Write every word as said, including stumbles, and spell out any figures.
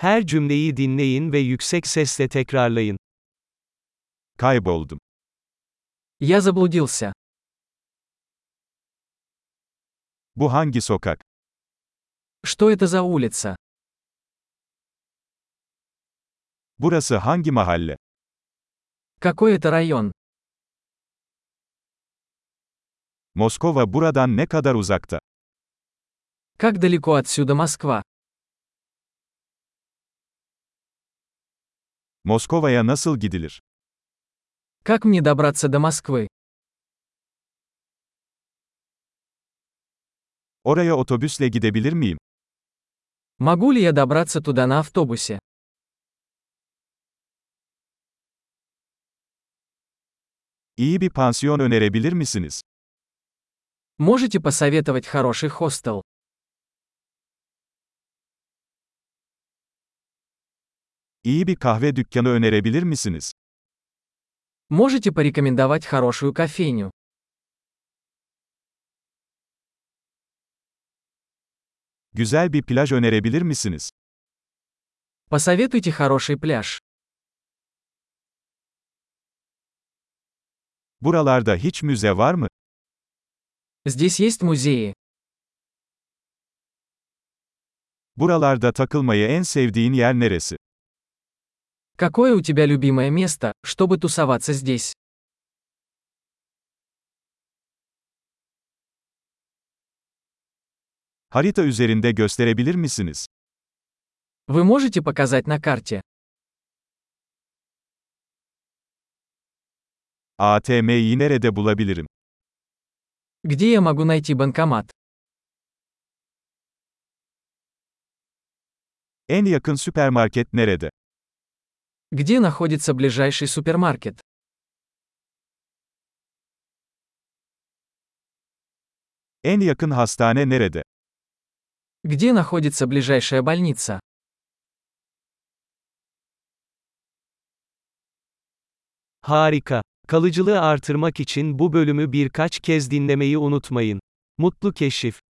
Her cümleyi dinleyin ve yüksek sesle tekrarlayın. Kayboldum. Я заблудился. Bu hangi sokak? Что это за улица? Burası hangi mahalle? Какой это район? Moskova buradan ne kadar uzakta? Как далеко отсюда Москва? Moskova'ya nasıl gidilir? Как мне добраться до Москвы? Oraya otobüsle gidebilir miyim? Могу ли я добраться туда на автобусе? İyi bir pansiyon önerebilir misiniz? Можете посоветовать хороший хостел? İyi bir kahve dükkanı önerebilir misiniz? Можете порекомендовать хорошую кофейню? Güzel bir plaj önerebilir misiniz? Посоветуйте хороший пляж. Buralarda hiç müze var mı? Здесь есть музеи. Buralarda takılmayı en sevdiğin yer neresi? Какое у тебя любимое место, чтобы тусоваться здесь? Harita üzerinde gösterebilir misiniz? Вы можете показать на карте? A T M'yi nerede bulabilirim? Где я могу найти банкомат? En yakın süpermarket nerede? Где находится ближайший супермаркет? En yakın hastane nerede? Где находится ближайшая больница? Harika. Kalıcılığı artırmak için bu bölümü birkaç kez dinlemeyi unutmayın. Mutlu keşif.